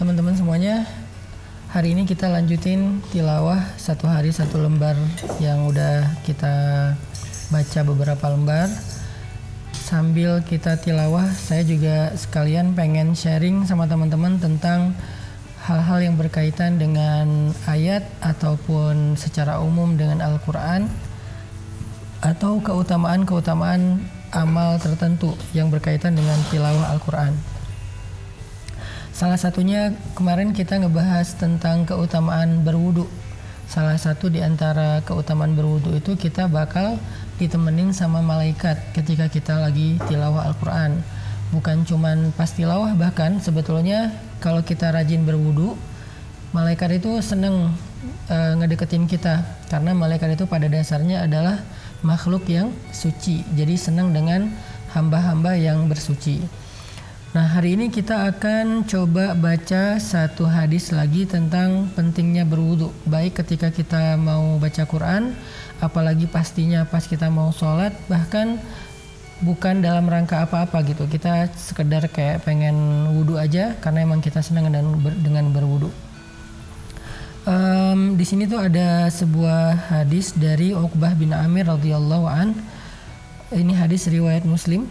teman-teman semuanya. Hari ini kita lanjutin tilawah satu hari satu lembar yang udah kita baca beberapa lembar. Sambil kita tilawah, saya juga sekalian pengen sharing sama teman-teman tentang hal-hal yang berkaitan dengan ayat ataupun secara umum dengan Al-Quran atau keutamaan-keutamaan amal tertentu yang berkaitan dengan tilawah Al-Quran. Salah satunya kemarin kita ngebahas tentang keutamaan berwudu. Salah satu di antara keutamaan berwudu itu kita bakal ditemenin sama malaikat ketika kita lagi tilawah Al-Quran. Bukan cuman pas tilawah, bahkan sebetulnya kalau kita rajin berwudu, malaikat itu seneng ngedeketin kita. Karena malaikat itu pada dasarnya adalah makhluk yang suci. Jadi seneng dengan hamba-hamba yang bersuci. Nah, hari ini kita akan coba baca satu hadis lagi tentang pentingnya berwudu, baik ketika kita mau baca Quran, apalagi pastinya pas kita mau sholat, bahkan bukan dalam rangka apa-apa gitu. Kita sekedar kayak pengen wudu aja karena emang kita senang dengan berwudu. Di sini tuh ada sebuah hadis dari Uqbah bin Amir radhiyallahu an. Ini hadis riwayat Muslim.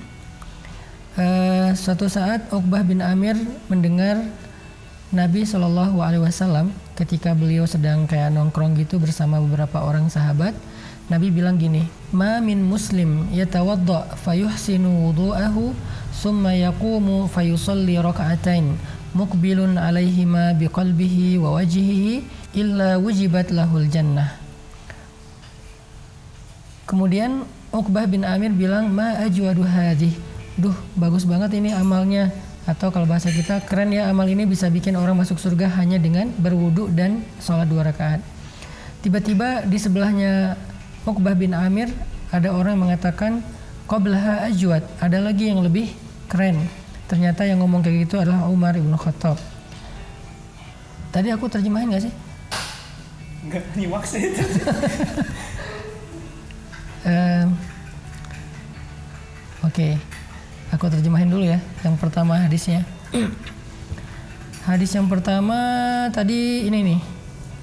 Suatu saat Uqbah bin Amir mendengar Nabi SAW ketika beliau sedang kayak nongkrong gitu bersama beberapa orang sahabat. Nabi bilang gini, "Ma min muslim yatawadda fayuhsinu wudu'ahu summa yaqumu fayusalli raka'atain muqbilun 'alaihima biqalbihi wa wajhihi illa wujibat lahul jannah." Kemudian Uqbah bin Amir bilang, "Ma ajwadu hadhihi." Duh, bagus banget ini amalnya. Atau kalau bahasa kita, keren ya amal ini bisa bikin orang masuk surga hanya dengan berwudu dan sholat 2 rakaat. Tiba-tiba di sebelahnya Uqbah bin Amir ada orang yang mengatakan, "Qablaha ajwad." Ada lagi yang lebih keren. Ternyata yang ngomong kayak gitu adalah Umar ibn Khattab. Tadi aku terjemahin gak sih? Enggak, nyimak sih itu. Oke. Aku terjemahin dulu ya, yang pertama hadisnya. Hadis yang pertama tadi ini nih.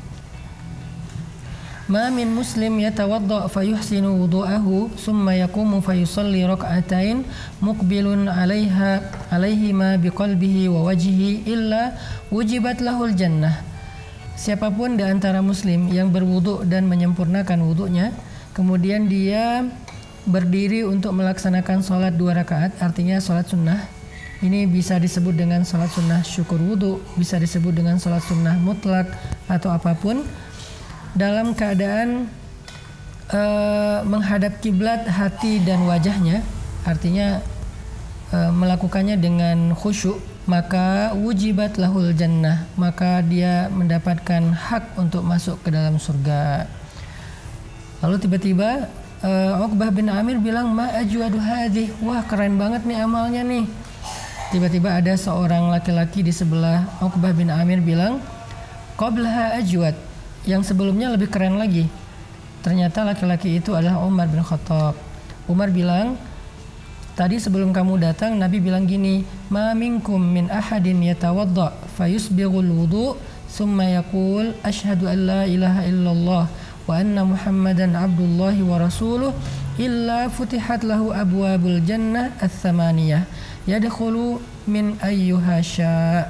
Ma min muslim yatawadda fayuhsinu wudu'ahu summa yaqumu fayusalli rak'atain muqbilun 'alaihima biqalbihi wa wajhihi illa wujibat lahul jannah. Siapapun di antara muslim yang berwudu dan menyempurnakan wudunya, kemudian dia berdiri untuk melaksanakan sholat 2 rakaat, artinya sholat sunnah. Ini bisa disebut dengan sholat sunnah syukur wudu, bisa disebut dengan sholat sunnah mutlak atau apapun, dalam keadaan menghadap kiblat hati dan wajahnya, artinya melakukannya dengan khusyuk, maka wujibat lahul jannah, maka dia mendapatkan hak untuk masuk ke dalam surga. Lalu tiba-tiba Uqbah bin Amir bilang, "Ma ajwadu hadhi." Wah, keren banget nih amalnya nih. Tiba-tiba ada seorang laki-laki di sebelah Uqbah bin Amir bilang, "Qablaha ajwad." Yang sebelumnya lebih keren lagi. Ternyata laki-laki itu adalah Umar bin Khattab. Umar bilang, "Tadi sebelum kamu datang, Nabi bilang gini, ma minkum min ahadin yatawadda fayusbighul wudu summa yaqul asyhadu an la ilaha illallah wa anna Muhammadan abdullahi wa rasuluh illa futihat lahu abwabul jannah ats-tsamaniyah yadkhulu min ayyuha syaa."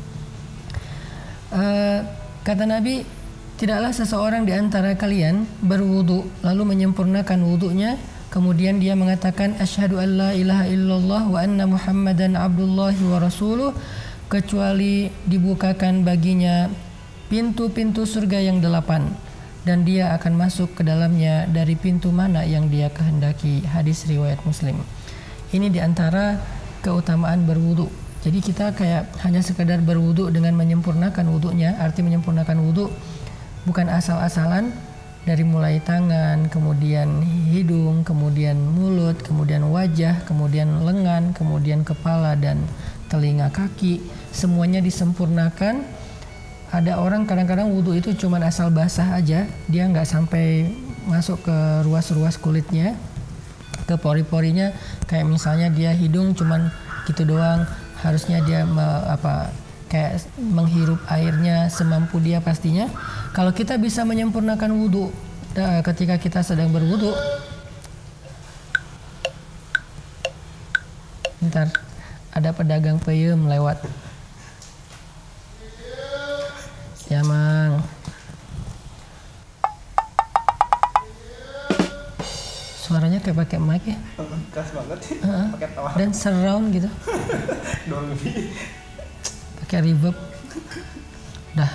Kata Nabi, tidaklah seseorang di antara kalian berwudu lalu menyempurnakan wudunya, kemudian dia mengatakan asyhadu an la ilaha illallah wa anna Muhammadan abdullahi wa rasuluh, kecuali dibukakan baginya pintu-pintu surga yang 8 dan dia akan masuk ke dalamnya dari pintu mana yang dia kehendaki. Hadis riwayat Muslim. Ini diantara keutamaan berwudu. Jadi kita kayak hanya sekedar berwudu dengan menyempurnakan wudunya. Arti menyempurnakan wudu bukan asal-asalan, dari mulai tangan, kemudian hidung, kemudian mulut, kemudian wajah, kemudian lengan, kemudian kepala dan telinga kaki. Semuanya disempurnakan. Ada orang kadang-kadang wudu itu cuma asal basah aja, dia nggak sampai masuk ke ruas-ruas kulitnya, ke pori-porinya. Kayak misalnya dia hidung cuman gitu doang, harusnya dia kayak menghirup airnya semampu dia pastinya. Kalau kita bisa menyempurnakan wudhu ketika kita sedang berwudhu, bentar, ada pedagang peyem lewat. Ya mang. Suaranya kayak pakai mic ya. Keras banget sih. Pakai tawa. Dan surround gitu. Dolby. Pakai reverb. Dah.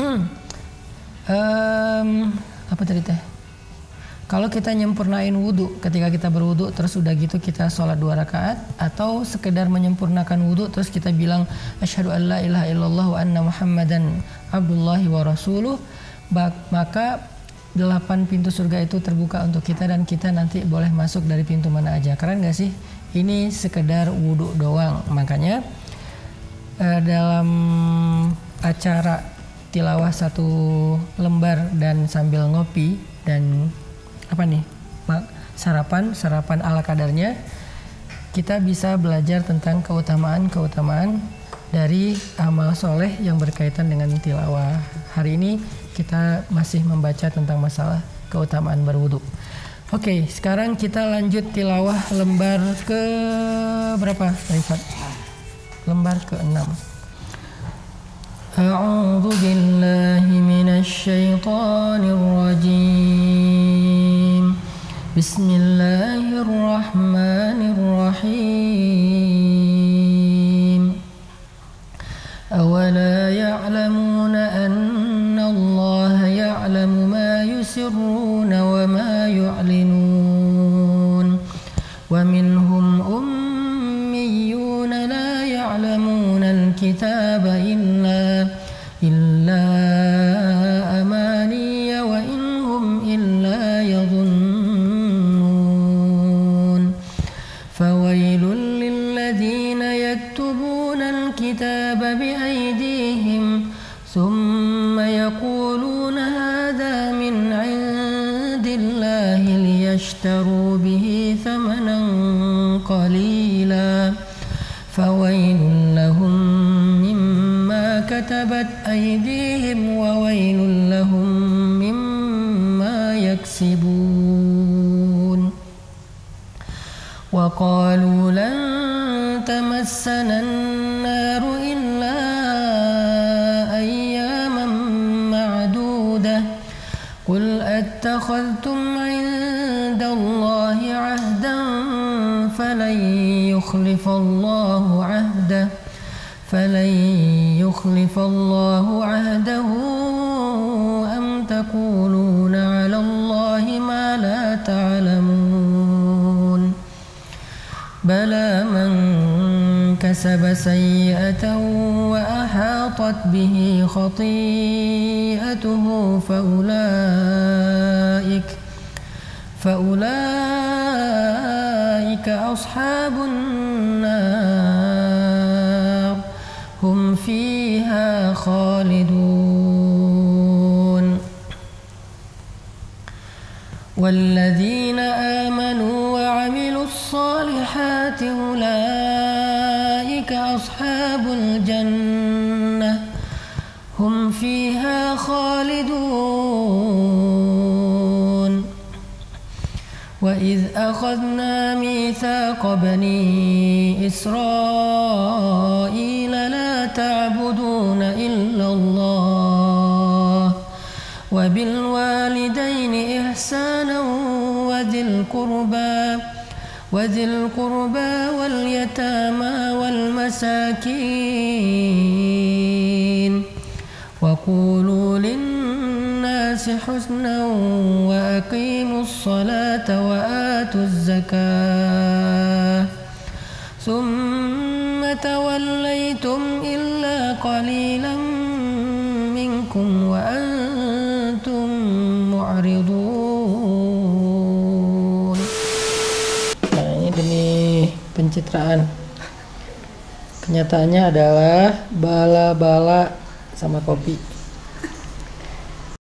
Apa tadi teh? Kalau kita nyempurnain wudhu ketika kita berwudhu, terus udah gitu kita sholat 2 rakaat, atau sekedar menyempurnakan wudhu terus kita bilang asyhadu an la ilaha illallah wa anna muhammadan abdullahi wa rasuluh, maka 8 pintu surga itu terbuka untuk kita dan kita nanti boleh masuk dari pintu mana aja. Keren gak sih? Ini sekedar wudhu doang. Makanya dalam acara tilawah 1 lembar dan sambil ngopi dan sarapan ala kadarnya, kita bisa belajar tentang keutamaan dari amal soleh yang berkaitan dengan tilawah. Hari ini kita masih membaca tentang masalah keutamaan berwudu. Oke, sekarang kita lanjut tilawah lembar ke berapa, Rifat? Lembar ke-6. A'udzu billahi minasy syaithanir rajim. Bismillahirrahmanirrahim. Awala ya'lamuna anna Allah ya'lamu ma yusirruna wa ma yu'linun. Wa minhum ummiyuna la ya'lamuna al-kitaba illa amaniya wa inhum illa yadhunnun. Fawailul lilladhina yaktubuna al-kitaba biaydihim thumma yaquluna hadha min 'indillahi liyashtaru bihi thamanan qalila. Fawailul lahum mimma katabat aydihim wa wailul lahum mimma yaksibun. Wa qalu lan tamassana an-naru illa ayyaman ma'dudah. Qul attakhadhtum 'indallahi 'ahdan falan yukhlifallahu 'ahdah am taquluna 'ala Allahi ma la ta'lamun. Bala man kasaba sayyi'atan wa ahatat bihi khati'atuhu فأولئك أصحاب النار هم فيها خالدون. والذين آمنوا وعملوا الصالحات أولئك أصحاب الجنة هم فيها خالدون. وإذ أخذنا ميثاق بني إسرائيل لا تعبدون إلا الله وبالوالدين إحسانا وذي القربى واليتامى والمساكين وقولوا للناس حسنا وأقيموا الصلاة وآتوا الزكاة ثم توليتم إلا قليلا منكم وأنتم معرضون. Nah, ini demi pencitraan. Kenyataannya adalah bala-bala sama kopi.